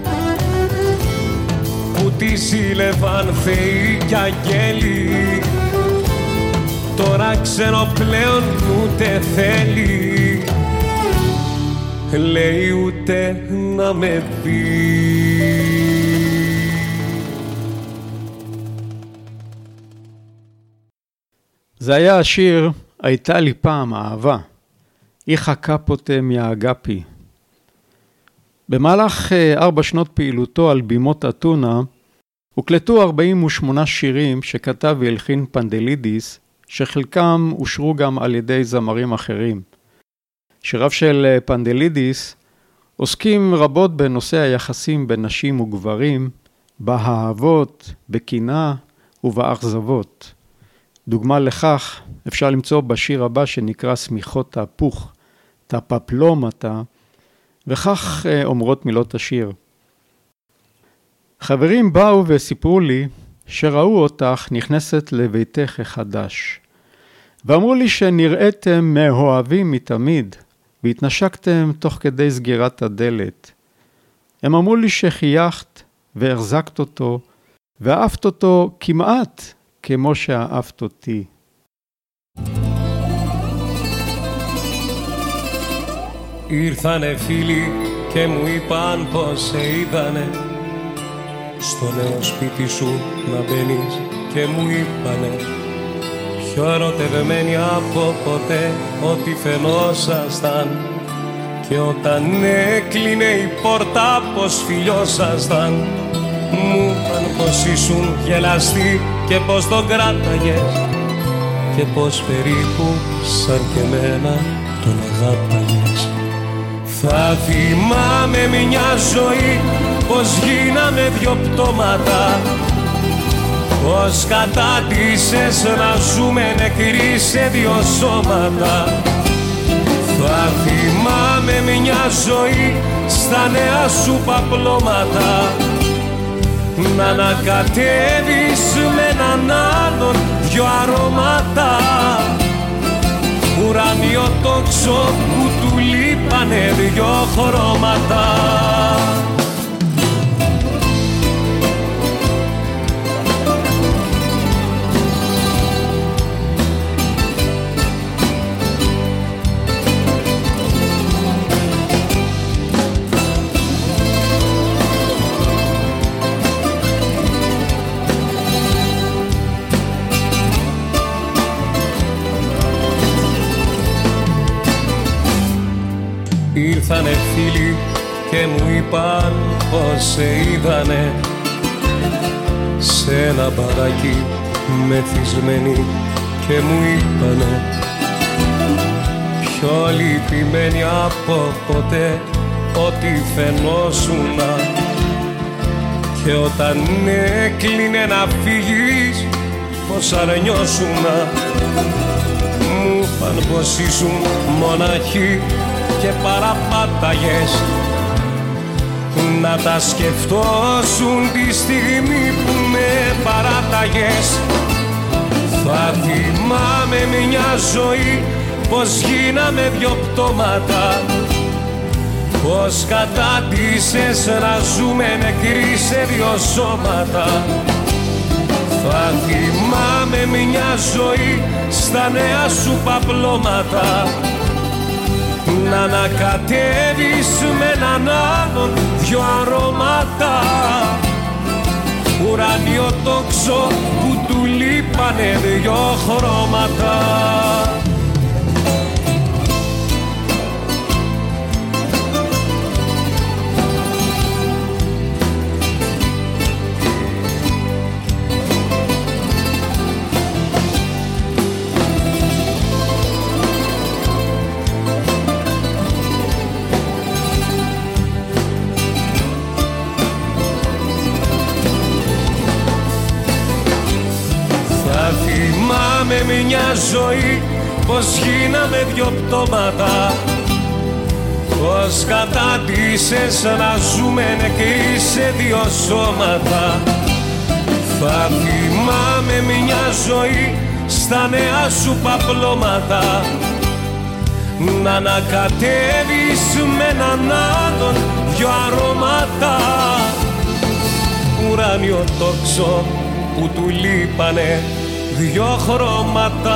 που τη ζήλευαν θεοί κι αγγέλοι. Τώρα ξέρω πλέον ούτε θέλει, λέει ούτε να με πει. זה היה השיר "הייתה לי פעם אהבה", איכה קפוטה מהאגפי. במהלך 4 שנות פעילותו על בימות אתונה, הוקלטו 48 שירים שכתב והלחין פנדלידיס, שחלקם אושרו גם על ידי זמרים אחרים. שיריו של פנדלידיס עוסקים רבות בנושא היחסים בין נשים וגברים, באהבות, בקנאה ובאכזבות. דוגמה לכך אפשר למצוא בשיר הבא שנקרא סמיכות תהפוך, תפפלומתה, וכך אומרות מילות השיר. חברים באו וסיפרו לי שראו אותך נכנסת לביתך החדש, ואמרו לי שנראיתם מאוהבים מתמיד, והתנשקתם תוך כדי סגירת הדלת. הם אמרו לי שחייכת והחזקת אותו, ואהבת אותו כמעט כמו שאהבת אותי. Ήρθανε φίλοι και μου είπαν πως σε είδανε στο νέο σπίτι σου να μπαίνεις και μου είπανε πιο ερωτευμένοι από ποτέ ότι φαινόσασταν και όταν έκλεινε η πόρτα πως φιλιόσασταν. Μου είπαν πως ήσουν γελαστοί και πως τον κράταγες και πως περίπου σαν και εμένα τον αγάπαγες. Θα θυμάμαι μια ζωή πως γίναμε 2 πτώματα, πως κατάτησες να ζούμε νεκροί σε 2 σώματα. Θα θυμάμαι μια ζωή στα νέα σου παπλώματα, να ανακατεύεις με έναν άλλον 2 αρώματα. Ουράνιο τόξο που του λείπανε 2 χρώματα. Ήρθανε φίλοι και μου είπαν πως σε είδανε σε ένα μπαράκι μεθυσμένοι και μου είπανε πιο λυπημένοι από ποτέ ότι φαινόσουνα και όταν έκλεινε να φύγεις πως αρνιώσουνα. Μου είπαν πως ήσουν μοναχοί και παραπάταγες να τα σκεφτώσουν τη στιγμή που με παράταγες. Θα θυμάμαι μια ζωή πως γίναμε δυο πτώματα, πως κατάτησες να ζούμε νεκροί σε δυο σώματα. Θα θυμάμαι μια ζωή στα νέα σου παπλώματα, να ανακατεύεις με έναν άλλον δυο αρώματα. Ουράνιο τόξο που του λείπανε δυο χρώματα. Με μια ζωή πως γίναμε δυο πτώματα, πως κατάτησες να ζούμε νεκροί σε δυο σώματα. Θα θυμάμαι μια ζωή στα νέα σου παπλώματα, να ανακατεύεις με έναν άλλον δυο αρώματα. Ουράνιο τόξο που του λείπανε δυο χρώματα.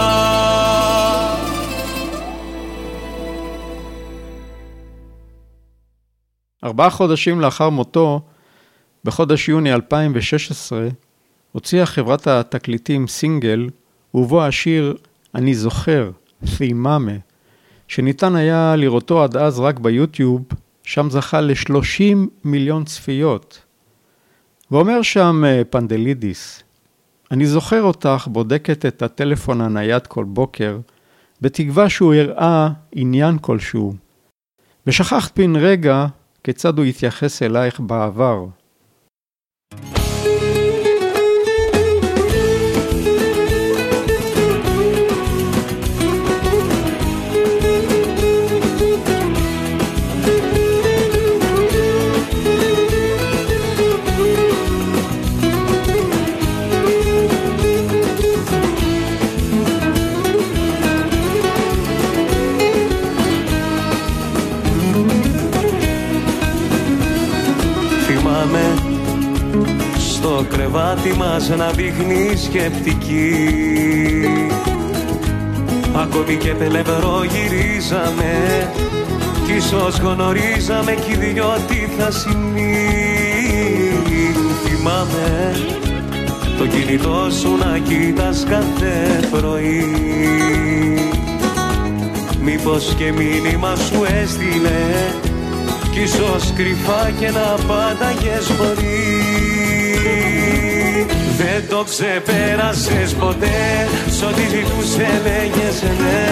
ארבעה חודשים לאחר מותו, בחודש יוני 2016, הוציאה חברת התקליטים סינגל, ובו השיר "אני זוכר", תיממה, שניתן היה לראותו עד אז רק ביוטיוב, שם זכה ל30 מיליון צפיות. ואומר שם פנדלידיס, אני זוכר אותך בודקת את הטלפון הנייד כל בוקר, בתקווה שהוא הראה עניין כלשהו. ושכחת בן רגע כיצד הוא יתייחס אלייך בעבר. Στο κρεβάτι μας να δείχνει σκεπτική, ακόμη και πελευρό γυρίζαμε κι ίσως γνωρίζαμε κι οι δυο τι θα συμβεί. Θυμάμαι το κινητό σου να κοίτας κάθε πρωί, μήπως και μήνυμα σου έστειλε κι ίσως κρυφά και να απάνταγες μπορεί. Δεν το ξεπέρασες ποτέ, σ' ό,τι ζητούσε λέγες ναι.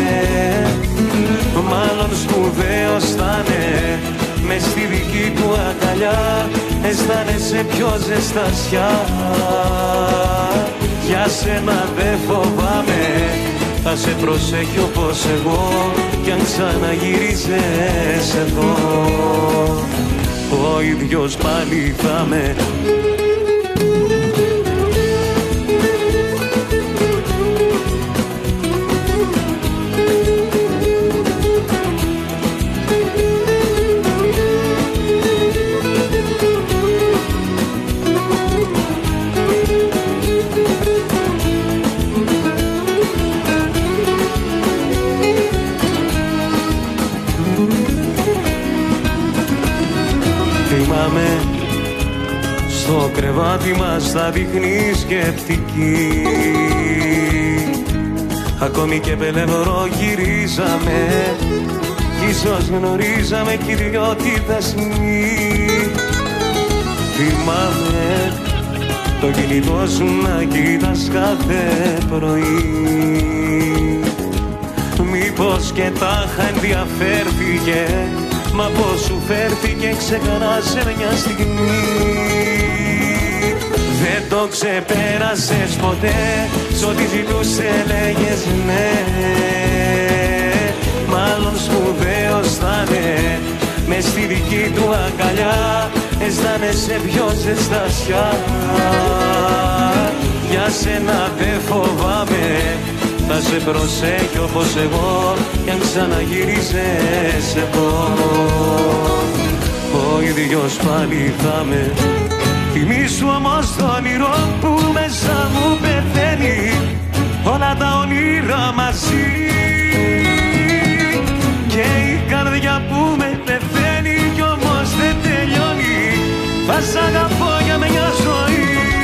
Μάλλον σπουδαίος θα'ναι, μες στη δική του αγκαλιά αισθάνεσαι πιο ζεστασιά. Για σένα δεν φοβάμαι, θα σε προσέχει όπως εγώ κι αν ξαναγυρίζεις εδώ, ο ίδιος πάλι θα με. Στο κρεβάτι μας θα δείχνει σκεπτική, ακόμη και πελευρό γυρίζαμε κι ίσως γνωρίζαμε κι οι δυο τη δεσμή. Θυμάμαι το κινητό σου να κοίτας κάθε πρωί. Μήπως και τάχα ενδιαφέρθηκε, μα πως σου φέρθηκε ξεχάσε μια στιγμή. Δεν το ξεπέρασες ποτέ, σ' ό,τι ζητούσε λέγες ναι. Μάλλον σπουδαίος θα είναι, μες στη δική του αγκαλιά αισθάνεσαι πιο ζεστασιά. Για σένα δεν φοβάμαι, θα σε προσέχει όπως εγώ κι αν ξαναγυρίζεις εδώ. Ο ίδιος πάλι θα με. Θυμήσου όμως το όνειρο που μέσα μου πεθαίνει, όλα τα όνειρα μαζί. Και η καρδιά που με πεθαίνει κι όμως δεν τελειώνει, θα σ' αγαπώ για μια ζωή.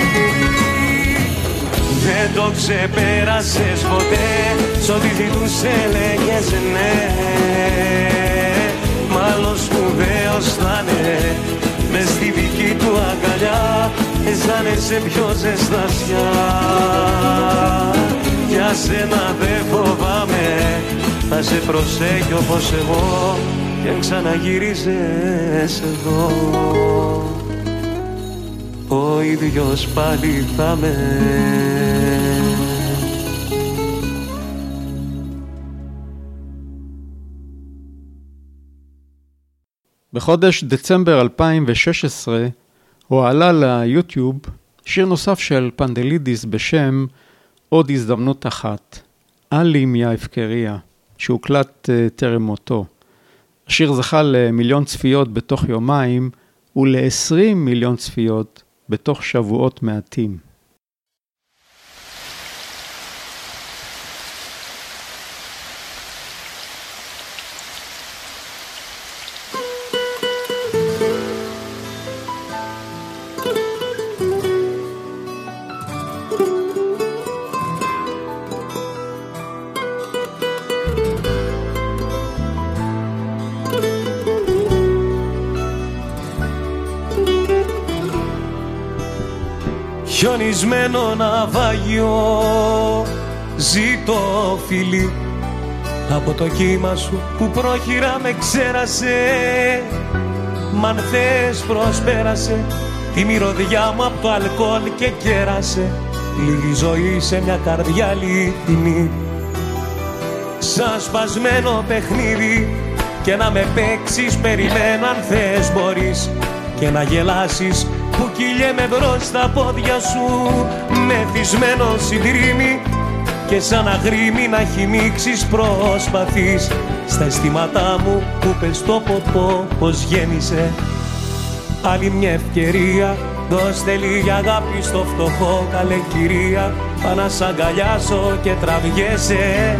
Δεν το ξεπέρασες ποτέ, σ' ό,τι ζητούσε λέγες ναι. Μάλλον σπουδαίος θα είναι, μες στη δική του αγκαλιά αισθάνεσαι πιο ζεστασιά. Για σένα δεν φοβάμαι, θα σε προσέχει όπως εγώ κι αν ξαναγυρίζεις εδώ. Ο ίδιος πάλι θα με. בחודש דצמבר 2016 הועלה ליוטיוב שיר נוסף של פנדלידיס בשם עוד הזדמנות אחת, עלי מההפקריה, שהוקלט טרם מותו. השיר זכה ל1,000,000 צפיות בתוך יומיים ול20 מיליון צפיות בתוך שבועות מעטים. Χιονισμένο ναυάγιο, ζήτω φίλη, από το κύμα σου που πρόχειρα με ξέρασε. Μ' αν θες προσπέρασε τη μυρωδιά μου από το αλκοόλ και κέρασε λίγη ζωή σε μια καρδιά αληθινή. Σαν σπασμένο παιχνίδι και να με παίξεις περιμένω αν θες μπορείς και να γελάσεις που κυλιέμαι μπρος στα πόδια σου μεθυσμένο συντρίμι και σαν αγρίμι να χυμίξεις προσπαθείς στα αισθήματά μου που πες το ποτό πως γέννησε. Άλλη μια ευκαιρία, δώστε λίγη αγάπη στο φτωχό καλέ κυρία, πά να σ' αγκαλιάσω και τραβιέσαι.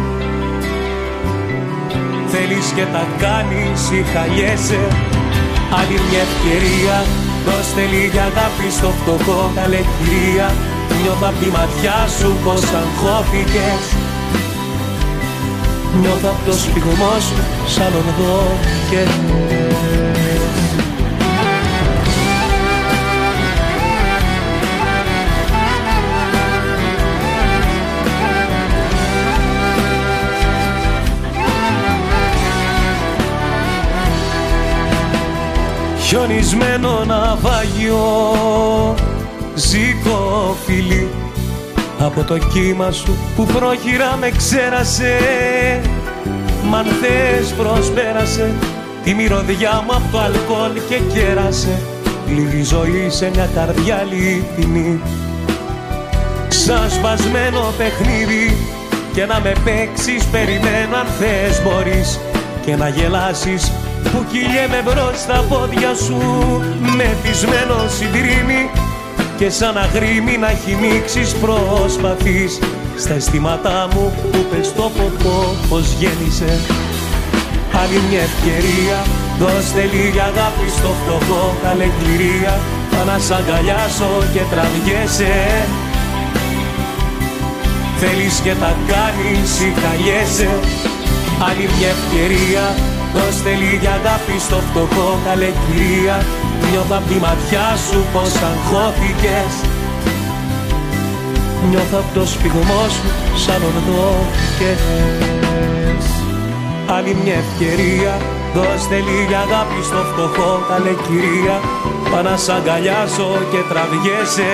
Θέλεις και τα κάνεις ή χαλιέσαι. Άλλη μια ευκαιρία, δώστε λίγη αγάπη στο φτωχό καλέ κυρία, νιώθω απ' τη ματιά σου πως αγχώθηκες. Νιώθω απ' το σπιγμό σου σαν ονδόκες. Χιονισμένο ναυάγιο, ζήτω φίλη, από το κύμα σου που πρόχειρα με ξέρασε. Μ' αν θες προσπέρασε τη μυρωδιά μου από το αλκοόλ και κέρασε λίγη ζωή σε μια καρδιά αληθινή. Σαν σπασμένο παιχνίδι και να με παίξεις περιμένω αν θες μπορείς και να γελάσεις που κυλιέμαι μπρος στα πόδια σου μεθυσμένο συντρίμι και σαν αγρίμι να χυμίξεις προσπαθείς στα αισθήματά μου που πες το ποτό πως γέννησε. Άλλη μια ευκαιρία, δώστε λίγη αγάπη στο φτωχό καλέ κυρία, πά να σ' αγκαλιάσω και τραβιέσαι. Θέλεις και τα κάνεις ή χαλιέσαι. Άλλη μια ευκαιρία, Δώσ' θέλει για αγάπη στο φτωχό καλεκυρία. Νιώθω απ' τη ματιά σου πως αγχώθηκες. Νιώθω απ' το σφιγμό σου σαν ορδώθηκες. Άλλη μια ευκαιρία, δώσ' θέλει για αγάπη στο φτωχό καλεκυρία. Πά να σ' αγκαλιάσω και τραβιέσαι.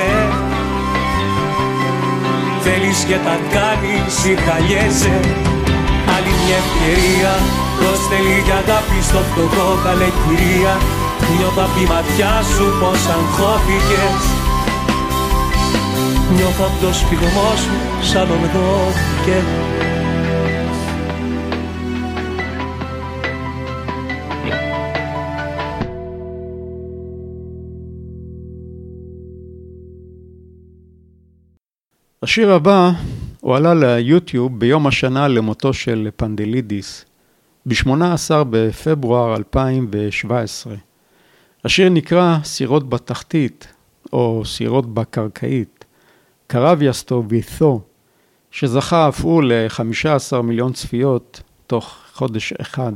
Θέλεις και τα κάνεις ή χαλιέσαι. Άλλη μια ευκαιρία, δώσ' θέλει για αγάπη στο φτωχό καλεκυρία. Νιώθω απ' τη ματιά σου πως αγχώθηκες. Νιώθω απ' το σφιγμό σου σαν ορδώθηκες. השיר הבא הוא עלה ליוטיוב ביום השנה למותו של פנדלידיס, ב-18 בפברואר 2017. השיר נקרא סירות בתחתית, או סירות בקרקעית, קרביאסטו ויתו, שזכה אף הוא ל-15 מיליון צפיות תוך חודש אחד.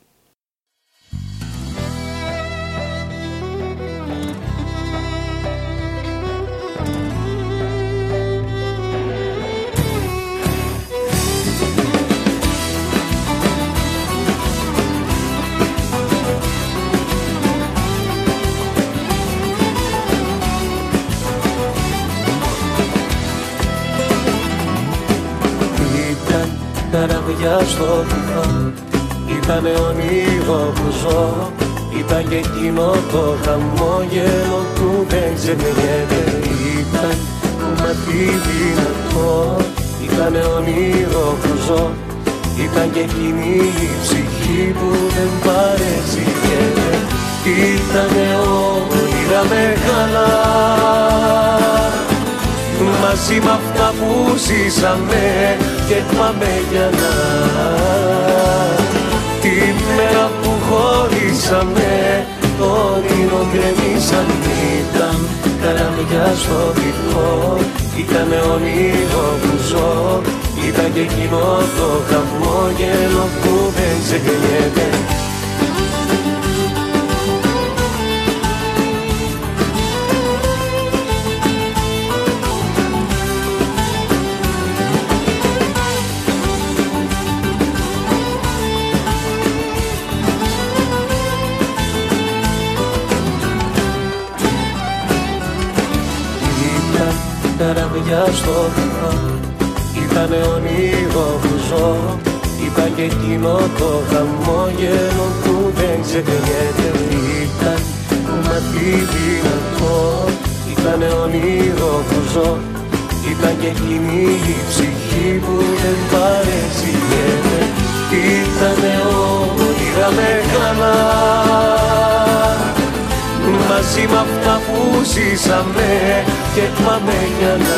Καραβιά στο βυθό, ήτανε όνειρο που ζω. Ήταν και εκείνο το χαμόγελο που δεν ξεχνιέται. Ήταν μάτι δυνατό, ήτανε όνειρο που ζω. Ήταν και εκείνη η ψυχή που δεν παρεξηγέται. Ήτανε όνειρα μεγάλα, μαζί με αυτά που ζήσαμε και πάμε για να. Τη μέρα που χωρίσαμε, το όνειρο γκρεμίσαν. Ήταν καραμιά στο βυθό, ήτανε όνειρο που ζω. Ήταν και εκείνο το χαμόγελο που δεν ξεχνιέται. Καραβιά στο βυθό, ήτανε όνειρο που ζω. Ήταν και εκείνο το χαμόγελο που δεν ξεχνιέται. Ήταν μάτι δυνατό, ήτανε όνειρο που ζω. Ήταν και εκείνη η ψυχή που δεν παρεξηγέται. Ήτανε όνειρα μεγάλα, μαζί με αυτά που ζήσαμε και πάμε για να.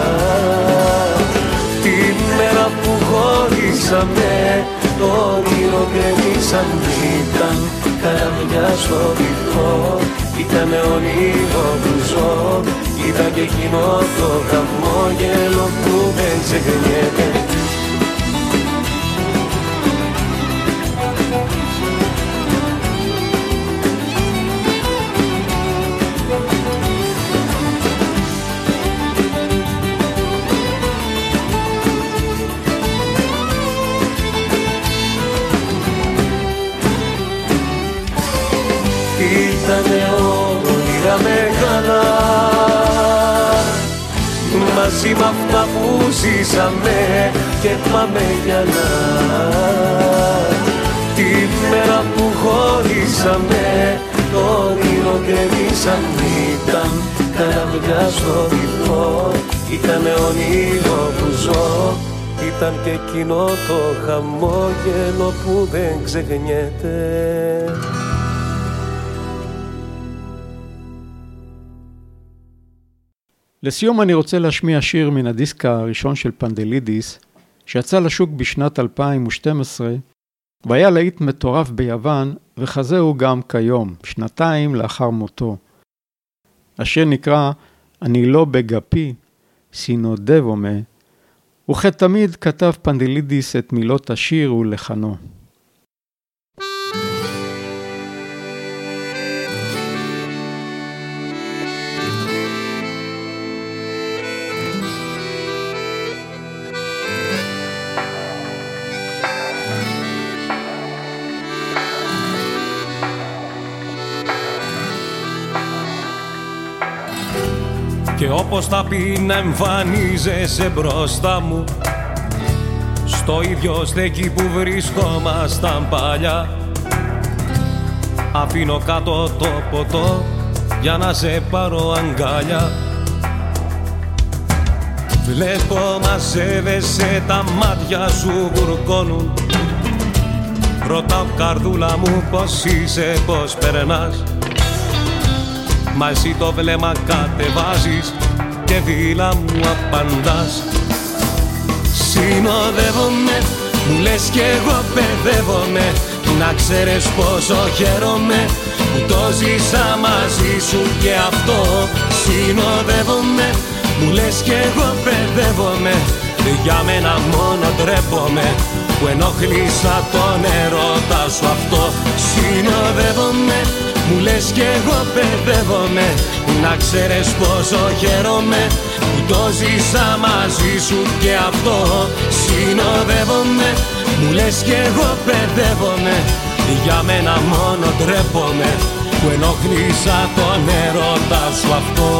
Τη μέρα που χωρίσαμε, το όνειρο γκρεμίσαν. Ήταν καραμιά στο βυθό, ήτανε όνειρο που ζω. Ήταν και εκείνο το χαμόγελο που δεν ξεχνιέται. Ήτανε όνειρα μεγάλα, μαζί με αυτά που ζήσαμε και πάμε για να. Τη μέρα που χωρίσαμε, το όνειρο γκρεμίσαν. Ήταν καραβιά στο βυθό, ήτανε όνειρο που ζω. Ήταν και εκείνο το χαμόγελο που δεν ξεχνιέται. לסיום אני רוצה להשמיע שיר מן הדיסק הראשון של פנדלידיס, שיצא לשוק בשנת 2012, והיה להיט מטורף ביוון, וכזהו גם כיום, שנתיים לאחר מותו. השיר נקרא "אני לא בגפי, סינודבומה", וכתמיד כתב פנדלידיס את מילות השיר ולחנו. Και όπως θα πει να εμφανίζεσαι μπροστά μου, στο ίδιο στέκι που βρισκόμασταν παλιά, αφήνω κάτω το ποτό για να σε πάρω αγκαλιά. Βλέπω μαζεύεσαι, τα μάτια σου γουρκώνουν. Ρωτάω καρδούλα μου πως είσαι, πως περνάς. Μα εσύ το βλέμμα κατεβάζεις και δίλα μου απαντάς. Συνοδεύομαι, μου λες κι εγώ παιδεύομαι. Να ξέρεις πόσο χαίρομαι που το ζήσα μαζί σου και αυτό. Συνοδεύομαι, μου λες κι εγώ παιδεύομαι. Για μένα μόνο ντρέπομαι που ενοχλήσα τον ερώτα σου αυτό. Συνοδεύομαι, μου λες κι εγώ παιδεύομαι. Να ξέρεις πόσο χαίρομαι που το ζήσα μαζί σου και αυτό. Συνοδεύομαι, μου λες κι εγώ παιδεύομαι. Για μένα μόνο ντρέπομαι που ενοχλήσα τον ερώτα σου αυτό.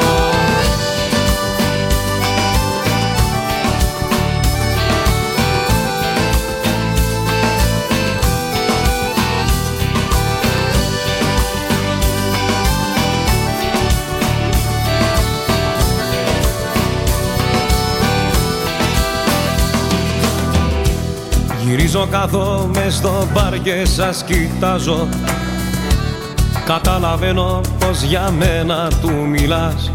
Γυρίζω, κάθομαι στο μπαρ και σας κοιτάζω. Καταλαβαίνω πως για μένα του μιλάς.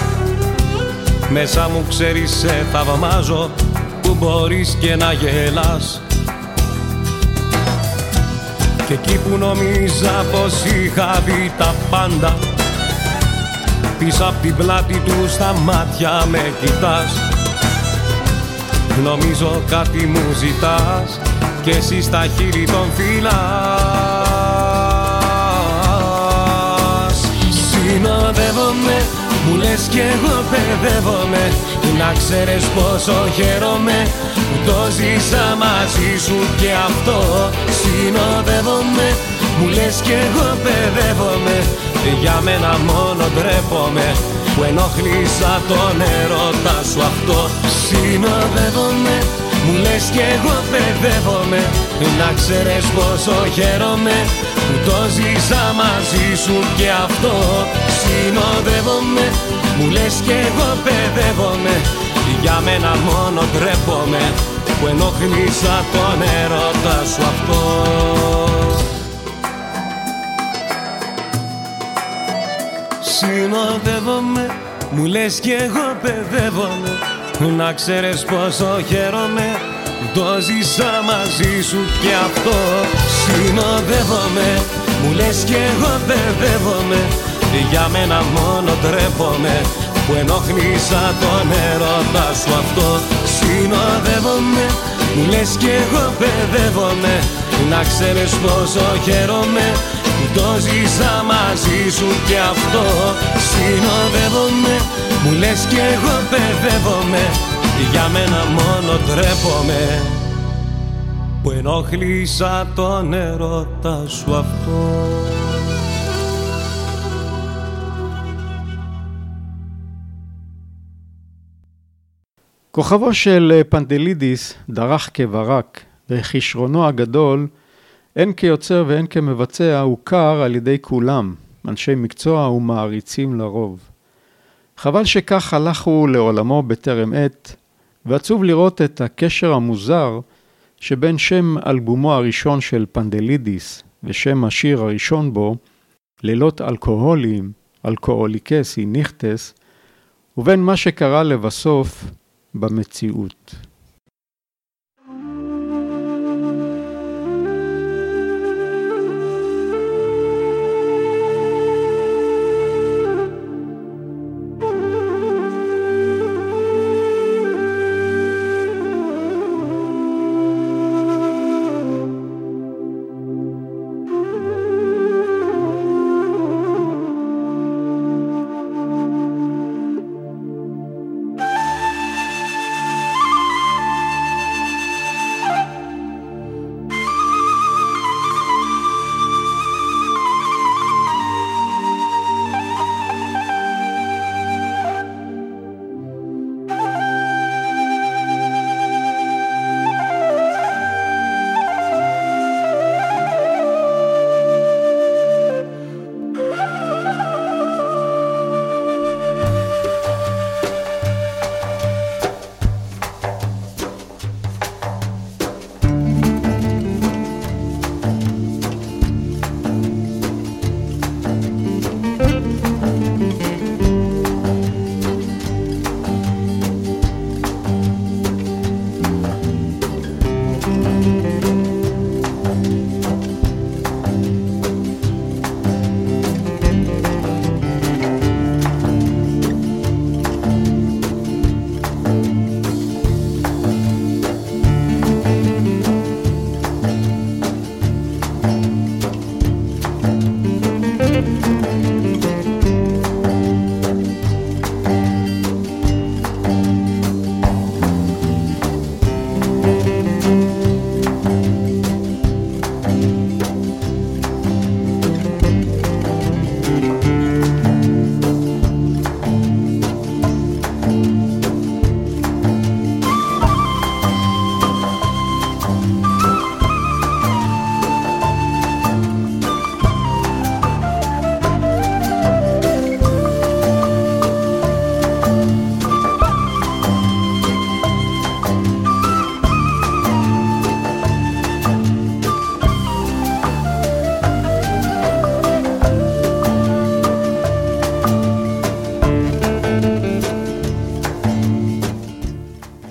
Μέσα μου ξέρεις σε θαυμάζω που μπορείς και να γελάς. Και εκεί που νομίζα πως είχα δει τα πάντα, πίσω απ' την πλάτη του στα μάτια με κοιτάς. Νομίζω κάτι μου ζητάς και εσύ στα χείλη τον φυλάς. Συνοδεύομαι, μου λες κι εγώ παιδεύομαι. Να ξέρεις πόσο χαίρομαι που το ζήσα μαζί σου και αυτό. Συνοδεύομαι, μου λες κι εγώ παιδεύομαι. Για μένα μόνο ντρέπομαι που ενοχλήσα τον ερώτα σου αυτό. Συνοδεύομαι, μου λες κι εγώ παιδεύομαι. Να ξέρεις πόσο χαίρομαι που το ζήσα μαζί σου και αυτό. Συνοδεύομαι, μου λες κι εγώ παιδεύομαι. Για μένα μόνο ντρέπομαι που ενοχλήσα τον ερώτα σου αυτό. Συνοδεύομαι, μου λες κι εγώ παιδεύομαι. Να ξέρεις πόσο χαίρομαι που το ζήσα μαζί σου και αυτό. Συνοδεύομαι, μου λες κι εγώ παιδεύομαι. Για μένα μόνο ντρέπομαι που ενοχλήσα τον ερώτα σου αυτό. Συνοδεύομαι, μου λες κι εγώ παιδεύομαι. Να ξέρεις πόσο χαίρομαι που το ζήσα μαζί σου και αυτό. Συνοδεύομαι, μου λες κι εγώ παιδεύομαι. Για μένα μόνο ντρέπομαι που ενοχλήσα τον ερώτα σου αυτό. כוכבו של פנדלידיס דרך כברק, וכישרונו הגדול, הן כיוצר והן כמבצע, הוכר על ידי כולם, אנשי מקצוע ומעריצים לרוב. חבל שכך הלכו לעולמו בטרם עת, ועצוב לראות את הקשר המוזר שבין שם אלבומו הראשון של פנדלידיס ושם השיר הראשון בו, לילות אלכוהולים, אלכוהוליקס היא ניכטס, ובין מה שקרה לבסוף במציאות.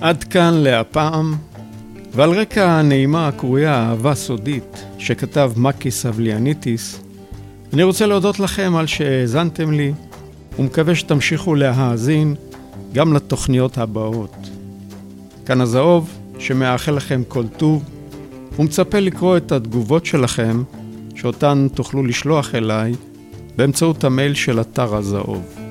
עד כאן להפעם, ועל רקע הנעימה הקרויה אהבה סודית שכתב מקי סבליאניטיס, אני רוצה להודות לכם על שהאזנתם לי, ומקווה שתמשיכו להאזין גם לתוכניות הבאות. כאן הזהוב שמאחל לכם כל טוב, ומצפה לקרוא את התגובות שלכם, שאותן תוכלו לשלוח אליי באמצעות המייל של אתר הזהוב.